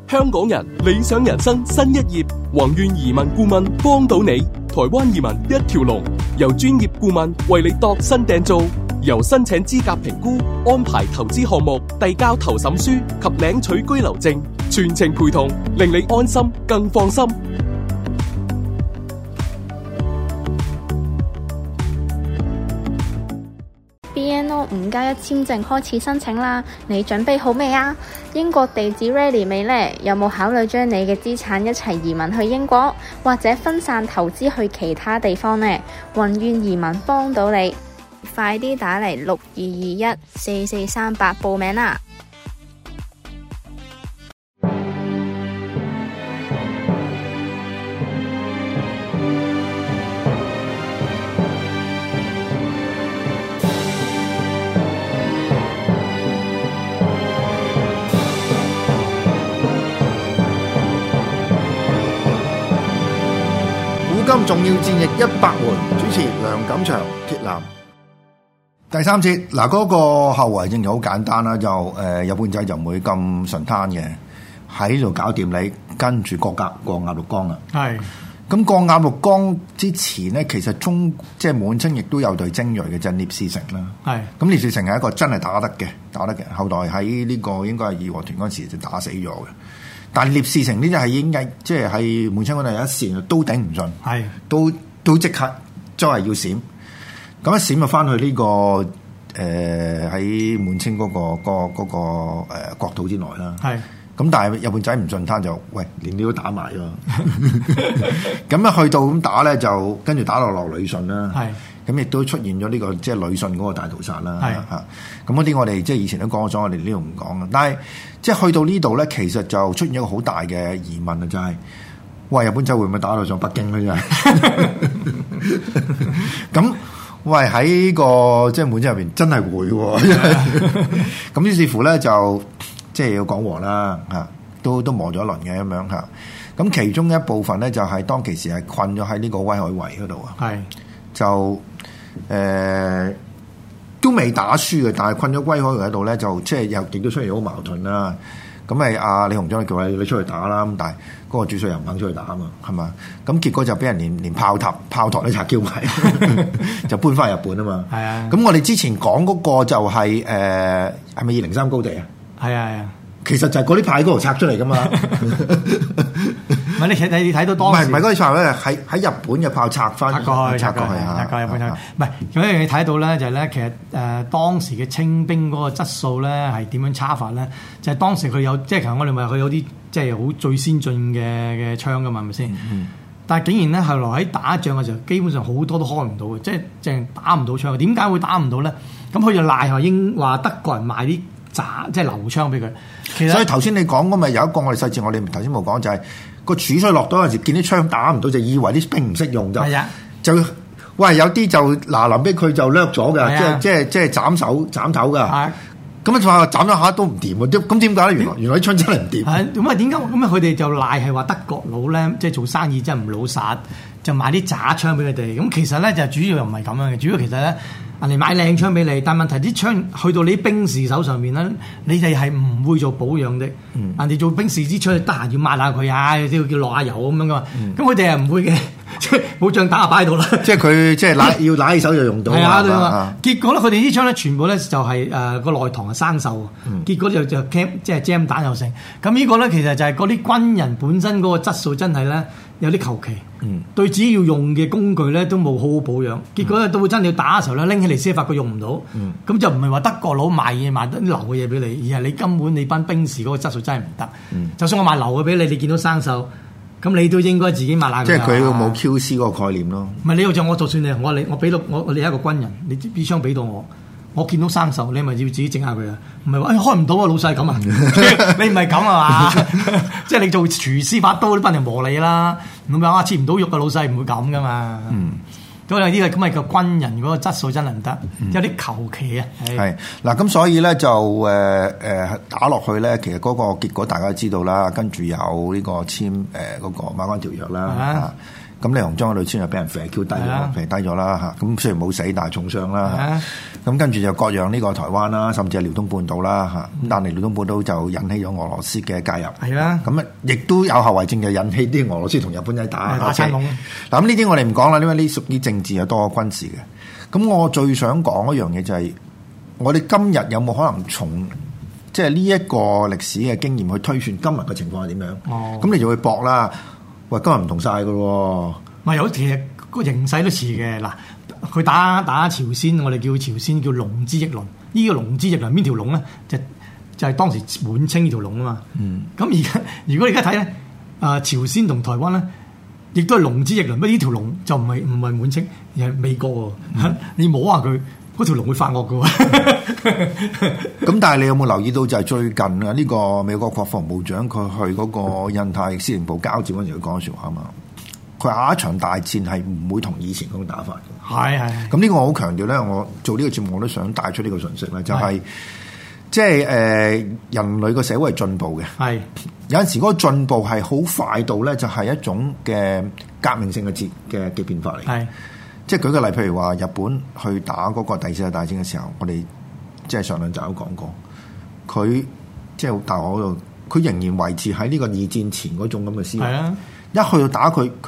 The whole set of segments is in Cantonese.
香港人理想人生新一頁，宏願移民顧問幫到你，台灣移民一條龍，由專業顧問為你度身訂造，由申請資格評估、安排投資項目、遞交投審書及領取居留證，全程陪同，令你安心更放心。 BNO 5+1簽證開始申請啦，你準備好未啊？英國地址 ready 未呢？有冇考慮將你嘅資產一齊移民去英國，或者分散投資去其他地方呢？宏願移民幫到你，快啲打嚟62214438報名啦！ 古今重要戰役100回，主持梁錦祥、鐵男。第三節嗱，嗰個後遺症就好簡單啦，就日本仔就唔會咁順攤嘅，喺度搞掂你，跟住過鴨綠江啦。係咁過鴨綠江之前咧，其實即係滿清亦都有隊精鋭嘅，就係聶士成啦。係咁，聶士成係一個真係打得嘅，後來喺呢個應該係義和團嗰時就打死咗嘅。但聶士成呢啲係已經即係喺滿清嗰度有一線都頂唔順，係都即刻真係要閃。咁一閃就翻去呢個喺滿清嗰個國土之內啦。係咁，但係日本仔唔順攤就喂，連你都打埋喎。咁一去到咁打咧，就跟住打落旅順啦。係咁亦都出現咗呢個即係旅順嗰個大屠殺啦。係嚇咁嗰啲我哋即係以前都講咗，我哋呢度唔講啦。但係即係去到呢度咧，其實就出現一個好大嘅疑問啊，就係喂，日本仔會唔會打到上北京咧？真係咁。喂，喺個即係滿清入邊真係會喎，咁於是乎咧就即係要講和啦嚇，都磨咗一輪嘅咁樣嚇。咁其中一部分咧就係當其時係困咗喺呢個威海圍嗰度啊，係就都未打輸嘅，但係困咗威海圍嗰度咧就即係又亦都出現好矛盾啦。咁咪阿李鴻章叫你出去打啦，咁但係嗰個主帥又唔肯出去打啊嘛，係嘛？咁結果就俾人連炮塔都拆叫埋，就搬翻日本啊嘛。係啊。咁我哋之前講嗰個就係係咪203高地啊？係啊係啊。其實就係嗰啲炮喺嗰度拆出嚟噶嘛。唔係你睇到當時唔係嗰啲炮咧，喺日本嘅炮拆翻過去啊！ 日本唔係有一樣嘢睇到咧，就係咧其實當時嘅清兵嗰個質素咧係點樣差法咧？就係當時佢有即係其實我哋咪佢有啲即係好最先進嘅槍噶嘛，係咪先？但係竟然咧後來喺打仗嘅時候，基本上好多都開唔到嘅，即係淨打唔到槍。點解會打唔到咧？咁佢就賴話德國人賣啲即係流槍俾佢。其實所以頭先你講嗰咪有一個我哋細節，我哋頭先冇講就係。個主帥落到嗰陣時，見啲槍打唔到，就以為啲兵唔識用就喂有啲就臨尾佢就掠咗嘅，即係斬頭㗎。咁就話斬咗下都唔掂喎，咁點解咧？原來啲槍真係唔掂。 咁啊點解？咁啊佢哋就賴係話德國佬咧，即係做生意真係唔老實，就買啲渣槍俾佢哋。咁其實咧就主要又唔係咁樣嘅，主要其實咧。人哋買靚槍俾你，但問題啲槍去到你兵士手上面咧，你哋係唔會做保養的。人哋做兵士支槍，得閒要抹下佢啊，都要落下油咁樣噶嘛。咁佢哋係唔會嘅，即係冇仗打就擺喺度啦。 即係佢即係要揦起手就用到。係啊，結果咧，佢哋啲槍咧全部咧就係個內膛係生鏽，結果就 cam 即係 jam 彈又成。咁呢個咧其實就係嗰啲軍人本身嗰個質素真係咧有啲求其。對自己要用嘅工具咧都冇好好保養，結果咧到真係要打嘅時候咧拎起嚟先發覺用唔到，咁就唔係話德國佬賣得啲流嘅嘢俾你，而係你根本你班兵士嗰個質素真係唔得。就算我賣流嘅俾你，你見到生鏽，咁你都應該自己抹下佢。 即係佢冇 QC 嗰個概念咯。 唔係你又就我就算你我俾到我你係一個軍人，你支槍俾到我見到生鏽，你咪要自己整下佢啊！唔係話開唔到啊，老細咁啊！你唔係咁啊嘛？即係你做廚師把刀都不停磨你啦，咁樣切唔到肉嘅老細唔會咁噶嘛。咁啊呢個咁咪個軍人嗰個質素真係唔得，有啲求其啊。 係嗱，咁所以咧就打落去咧，其實嗰個結果大家都知道啦，跟住有呢個簽嗰個馬關條約啦。 咁李鴻章嘅女孫又俾人肥 Q 低咗，肥低咗啦嚇。咁雖然冇死，但係重傷啦。咁跟住就割讓呢個台灣啦，甚至係遼東半島啦嚇。咁但係遼東半島就引起咗俄羅斯嘅介入。 係啦。 咁啊，亦都有後遺症，就引起啲俄羅斯同日本仔打撐籠。 嗱咁呢啲我哋唔講啦，因為呢屬於政治又多過軍事嘅。咁我最想講一樣嘢就係，我哋今日有冇可能從即係呢一個歷史嘅經驗去推算今日嘅情況係點樣？咁你就會搏啦。喂，今日唔同晒㗎喎。 咪有其實個形勢都似嘅嗱。佢打朝鮮，我哋叫朝鮮叫龍之翼輪。呢個龍之翼輪邊條龍咧？就係當時滿清呢條龍啊嘛。咁而家如果你而家睇咧，朝鮮同台灣咧，亦都係龍之翼輪。不過呢條龍就唔係滿清，而係美國喎。你摸下佢，嗰條龍會發惡㗎喎。 咁但係你有冇留意到就係最近啊？呢個美國國防部長佢去嗰個印太司令部交接嗰陣時，佢講説話啊嘛。佢下一場大戰係唔會同以前嗰種打法嘅。係。咁呢個我好強調咧，我做呢個節目我都想帶出呢個訊息咧，就係即係人類個社會係進步嘅。係。有陣時嗰個進步係好快到咧，就係一種嘅革命性嘅變化嚟。係。即係舉個例，譬如話日本去打嗰個第四次大戰嘅時候，我哋即係上兩集都講過，佢即係大學嗰度，佢仍然維持喺呢個二戰前嗰種咁嘅思維。係啊。一去到打佢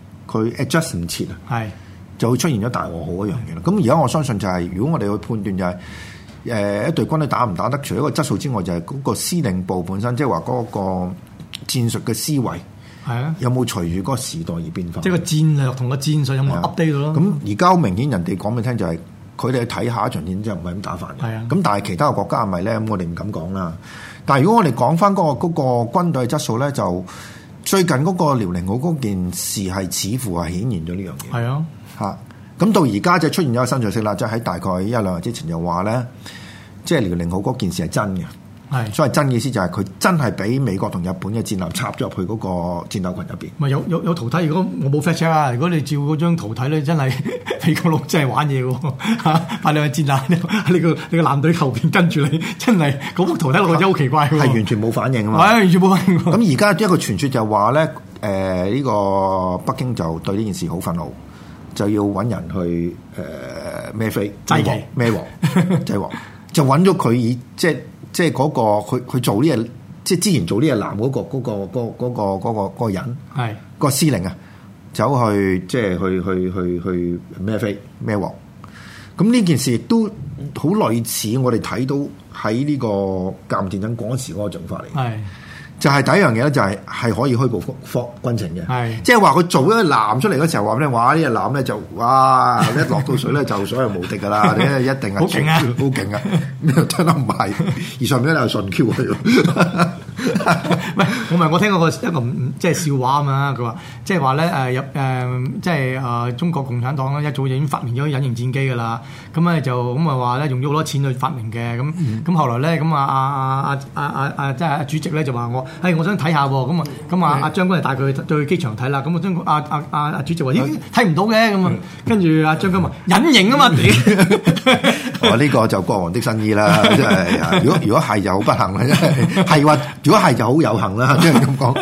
adjust 唔切啊，係就會出現咗大和號一樣嘢啦。咁而家我相信就係、是，如果我哋去判斷就係、是，一隊軍隊打唔打得，除咗個質素之外，就係嗰個司令部本身，即係話嗰個戰術嘅思維，係啊，有冇隨住嗰個時代而變化？即係個戰略同個戰術有冇 update 到咯？咁而家好明顯，人哋講俾你聽就係、是，佢哋去睇下一場戰之後唔係咁打法嘅。係啊。咁但係其他嘅國家係咪咧？咁我哋唔敢講啦。但係如果我哋講翻嗰個軍隊嘅質素咧，就最近嗰個遼寧號嗰件事係似乎係顯現咗呢樣嘢。係啊，嚇！咁到而家就出現咗個新訊息啦，即係喺大概一兩日之前就話咧，即係遼寧號嗰件事係真嘅。係，所謂真嘅意思就係佢真係俾美國同日本嘅戰艦插咗入去嗰個戰鬥群入邊。咪有圖睇？如果我冇 fact check 啊，如果你照嗰張圖睇咧，真係美國佬真係玩嘢喎嚇！派兩隻戰艦你個艦隊後邊跟住你，真係嗰幅圖睇落去真係好奇怪喎。係完全冇反應啊嘛。係完全冇反應。咁而家一個傳說就話咧，呢個北京就對呢件事好憤怒，就要揾人去孭飛孭鑊制鑊，就揾咗佢以即係嗰個佢做呢嘢，即係之前做呢嘢男嗰個人，係個司令啊，走去即係去孭飛孭鑊。咁呢件事亦都好類似我哋睇到喺呢個甲午戰爭嗰時嗰個做法嚟。係就係第一樣嘢咧，就係可以虛報軍情嘅。係即係話佢做一個艦出嚟嗰時候話咧，哇！呢隻艦咧就哇一落到水咧就所有無敵噶啦，你一定係好勁啊，好勁啊！真係唔係，而上面咧又順 Q 佢。喂，我聽過一個即係笑話啊嘛，佢話即係話咧即係中國共產黨咧一早已經發明咗隱形戰機噶啦，咁咧就咁話咧用咗好多錢去發明嘅，咁後來咧咁即係阿主席咧就話我想睇下喎，咁阿將軍就帶佢去機場睇啦，咁阿主席話咦睇唔到嘅，咁跟住阿將軍話隱形啊嘛，我呢個就國王的新衣啦，即係如果係就好不幸啦，真係係話如果係就好有幸啦，即係咁講。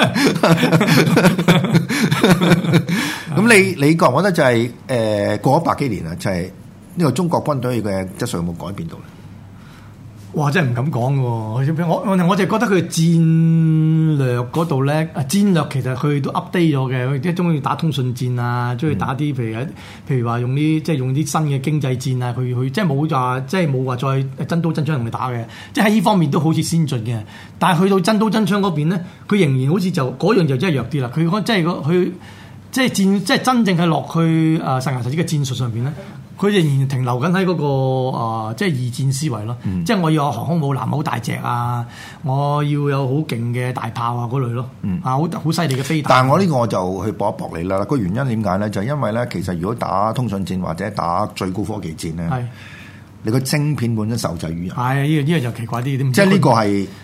咁你覺唔覺得就係過咗百幾年啦，就係呢個中國軍隊嘅質素有冇改變到咧？哇！真係唔敢講喎，我就覺得佢戰略嗰度咧，戰略其實佢都 update 咗嘅，佢即係中意打通訊戰啊，中意打啲譬如話用啲新嘅經濟戰啊，佢即係冇話再真刀真槍同你打嘅，即係喺呢方面都好似先進嘅。但係去到真刀真槍嗰邊咧，佢仍然好似就嗰樣就真係弱啲啦。佢講即係佢即係真正係落去實牙實齒嘅戰術上邊咧。佢仍然停留緊喺嗰個即係二戰思維咯，即係我要有航空母艦好大隻啊，我要有好勁嘅大炮啊嗰類咯，好犀利嘅飛彈。但係我呢個我就去搏一搏你啦。個原因點解咧？就係因為咧，其實如果打通訊戰或者打最高科技戰咧，你個晶片本身受制於人。係呢個就奇怪啲，即係呢個係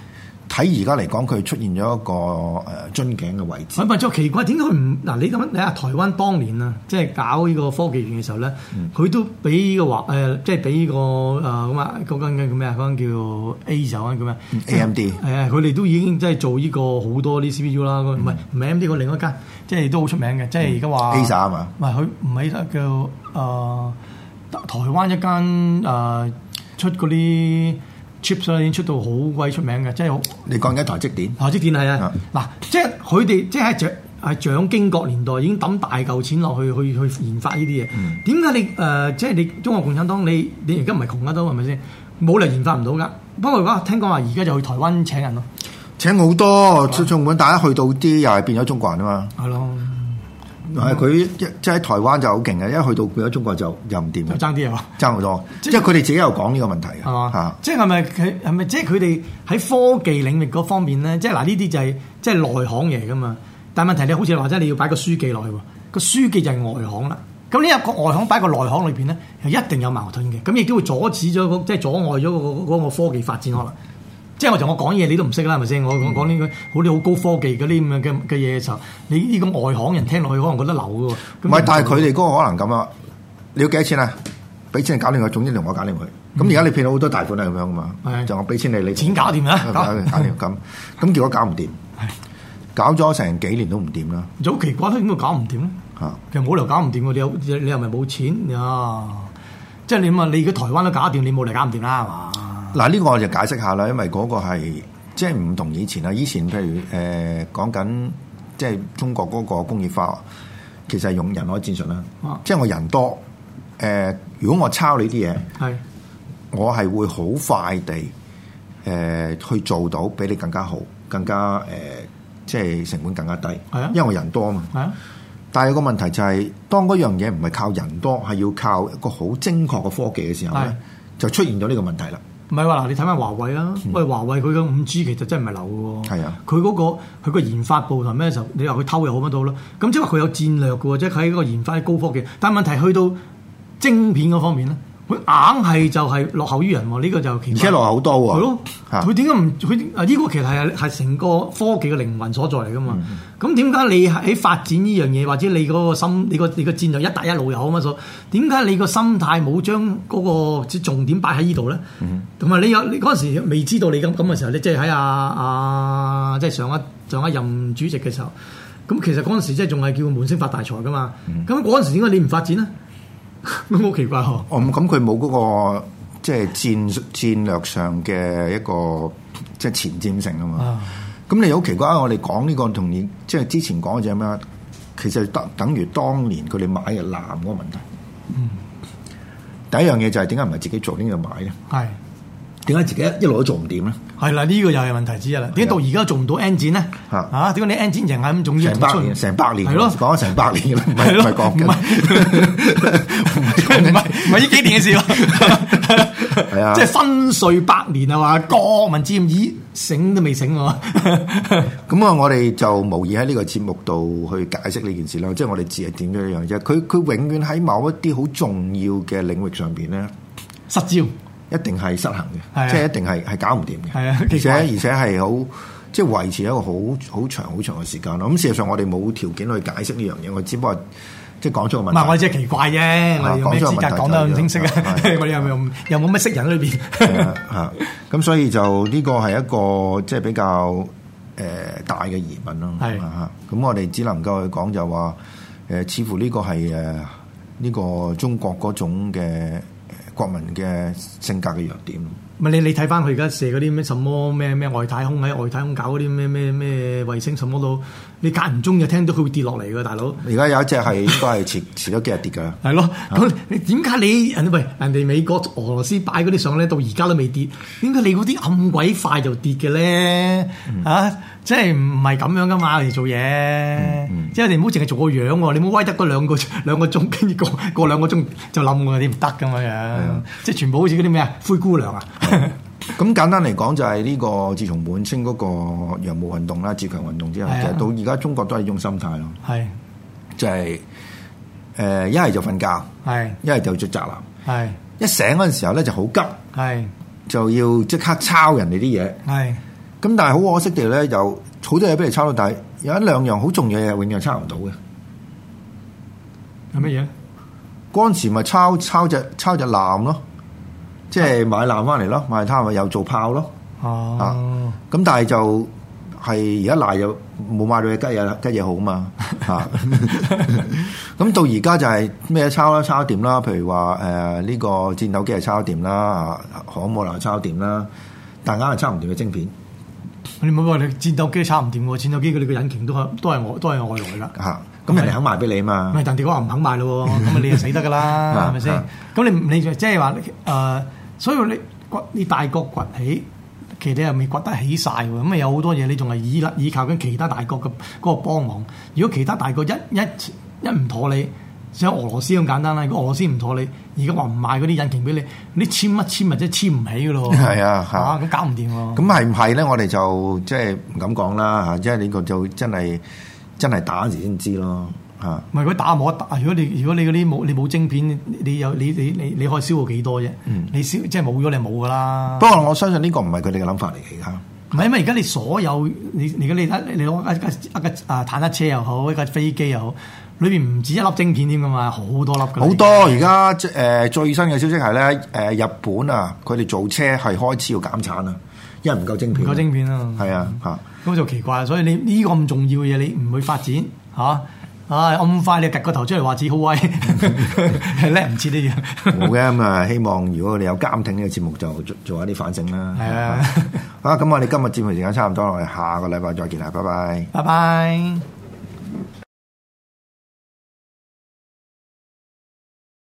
睇而家嚟講，佢出現咗一個樽頸嘅位置。 咪就奇怪，點解佢唔嗱？你咁你話台灣當年啊，即係搞呢個科技園嘅時候咧，佢都俾個話即係俾個咁啊嗰間叫咩啊？嗰間叫 A 就嗰間叫咩 AMD 係啊，佢哋都已經即係做呢個好多啲 CPU 啦，唔係 AMD 個另一間，即係都好出名嘅，即係而家話 Acer 啊嘛， 唔係佢唔係叫台灣一間出嗰啲 chips 已經出到好鬼出名嘅，即係好。你講緊台積電？ 台積電係啊，嗱，即係佢哋即係喺蔣經國年代已經抌大嚿錢落去研發呢啲嘢。點解你即係你中國共產黨你而家唔係窮得到係咪先？冇理由研發唔到㗎。不過話聽講話而家就去台灣請人咯， 請好多，儘管大家去到啲又係變咗中國人啊嘛。係咯。佢即係喺台灣就好勁嘅，一去到變咗中國就又唔掂，就爭啲啊，爭好多。即係佢哋自己又講呢個問題嘅，係即係係咪即係佢哋喺科技領域嗰方面咧？即係嗱呢啲就係即係內行嘢㗎嘛。但係問題你好似話齋你要擺個書記落去喎，個書記就係外行啦。咁呢一個外行擺個內行裏邊咧，係一定有矛盾嘅。咁亦都會阻止咗即係阻礙咗嗰個科技發展可能。即係我講嘢你都唔識啦，係咪先？我講呢個好啲好高科技嗰啲咁嘅嘢嘅時候，你呢個外行人聽落去可能覺得流嘅喎。 唔係，但係佢哋嗰個可能咁啊！你要幾多錢啊？俾錢你搞掂佢，總之同我搞掂佢。咁而家你騙到好多大款係咁樣噶嘛？就我俾錢你，你錢搞掂啦， 搞掂咁。咁結果搞唔掂，搞咗成幾年都唔掂啦。 就好奇怪，點解搞唔掂咧？其實冇理由搞唔掂喎，你又咪冇錢啊？即係你問你如果台灣都搞掂，你冇理由搞唔掂啦，係嘛？ 嗱，呢個我就解釋下啦，因為嗰個係即係唔同以前啦。以前譬如講緊即係中國嗰個工業化，其實係用人海戰術啦。即係我人多，如果我抄你啲嘢，我係會好快地去做到比你更加好，更加即係成本更加低。因為我人多啊嘛。但係個問題就係，當嗰樣嘢唔係靠人多，係要靠一個好精確嘅科技嘅時候咧，就出現咗呢個問題啦。唔係話嗱，你睇翻華為啦，喂，華為佢嘅5G其實真係唔係流嘅喎。係啊，佢個研發部同咩時候？你話佢偷又好乜都好啦。咁即係話佢有戰略嘅喎，即係喺個研發高科技。但係問題去到晶片嗰方面咧，佢硬係就係落後於人喎。呢個就奇怪，而且落後好多喎。係咯，佢點解唔佢呢個其實係成個科技嘅靈魂所在嚟㗎嘛？咁點解你喺發展呢樣嘢，或者你嗰個心，你個戰略一帶一路又好乜所？點解你個心態冇將嗰個重點擺喺呢度咧？同埋你嗰陣時未知道你咁嘅時候，你即係喺即係上一任主席嘅時候，咁其實嗰陣時即係仲係叫滿星發大財㗎嘛？咁嗰陣時點解你唔發展咧？咁好奇怪喎！咁佢冇嗰個即係戰略上嘅一個即係前瞻性啊嘛。咁你好奇怪啊！我哋講呢個同你即係之前講嘅就係咩？其實等於當年佢哋買嘅艦嗰個問題。第一樣嘢就係點解唔係自己做，點解要買咧？係點解自己一路都做唔掂咧？係啦，呢個又係問題之一啦。點解到而家做唔到 engine 咧？點解你 engine 人係咁重要？成百年係咯，講咗成百年啦，唔係講緊，唔係呢幾年嘅事咯。係啊，即係分碎百年啊嘛，國民之義醒都未醒喎。咁啊，我哋就無意喺呢個節目度去解釋呢件事啦。即係我哋只係點咗一樣啫。佢永遠喺某一啲好重要嘅領域上邊咧失焦。一定係失衡嘅，即係一定係搞唔掂嘅。係啊，而且係好即係維持一個好長嘅時間咯。咁事實上我哋冇條件去解釋呢樣嘢，我只不過即係講出個問題。唔係我只係奇怪啫，我哋有咩資格講得咁清晰啊？我哋又冇乜識人喺裏邊。嚇咁所以就呢個係一個即係比較大嘅疑問咯。係嚇咁我哋只能夠去講就話似乎呢個係呢個中國嗰種嘅國民嘅性格嘅弱點。唔係你睇翻佢而家射嗰啲咩什麼咩外太空，喺外太空搞嗰啲咩衛星什麼都，你間唔中就聽到佢會跌落嚟㗎，大佬。而家有一隻係應該係遲咗幾日跌㗎。係咯，咁你點解人哋美國俄羅斯擺嗰啲相咧，到而家都未跌？點解你嗰啲咁鬼快就跌嘅咧？即係唔係咁樣㗎嘛？嚟做嘢，即係你唔好淨係做個樣喎，你唔好威得嗰兩個鐘，跟住過2個鐘就冧喎，你唔得咁樣。即係全部好似嗰啲咩灰姑娘啊！咁簡單嚟講就係呢個自從滿清嗰個洋務運動啦、自強運動之後，其實到而家中國都係呢種心態咯。係就係一係就瞓覺，係一係就做宅男，係一醒嗰陣時候咧就好急，係就要即刻抄人哋啲嘢，係咁但係好可惜地咧，有好多嘢俾你抄到，但係有一兩樣好重要嘅嘢，永遠抄唔到嘅。 係乜嘢？ 嗰陣時咪抄隻艦咯，即係買艦翻嚟咯，買攤咪又做炮咯。 哦， 咁但係就係而家賴又冇買到嘅吉嘢好嘛嚇。咁到而家就係咩抄啦，抄掂啦。譬如話呢個戰鬥機係抄掂啦，航母又抄掂啦，但係硬係抄唔掂嘅晶片。 你唔好話你戰鬥機抄唔掂喎，戰鬥機佢哋嘅引擎都係外來㗎嚇。咁人哋肯賣俾你嘛？ 咪人哋講唔肯賣咯，咁啊你就死得㗎啦，係咪先？咁你即係話所以你大國崛起，其實你又未崛得起晒喎。咁啊有好多嘢你仲係依靠緊其他大國嘅嗰個幫忙。如果其他大國一唔妥你，像俄羅斯咁簡單啦。如果俄羅斯唔妥你，而家話唔賣嗰啲引擎俾你，你簽或者簽唔起㗎咯。 係啊， 咁搞唔掂喎。 咁係唔係咧？我哋就即係唔敢講啦嚇，即係呢個就真係打時先知咯嚇。 唔係佢打冇得打，如果你嗰啲你冇晶片，你可以消耗幾多啫？你即係冇咗你冇㗎啦。 不過我相信呢個唔係佢哋嘅諗法嚟嘅嚇。 唔係因為而家你所有你攞一架坦克車又好，一架飛機又好，裏邊唔止一粒晶片添㗎嘛，好多粒㗎。 好多而家最新嘅消息係咧日本啊，佢哋做車係開始要減產啊，因為唔夠晶片。 唔夠晶片啊！ 係啊嚇。 咁就奇怪，所以你呢個咁重要嘅嘢，你唔去發展嚇？咁快你趌個頭出嚟話自己好威，叻唔切呢樣。 冇嘅咁啊，希望如果你有監聽呢個節目，就做一啲反省啦。 係啊， 咁我哋今日節目時間差唔多，我哋下個禮拜再見啦，拜拜。 拜拜。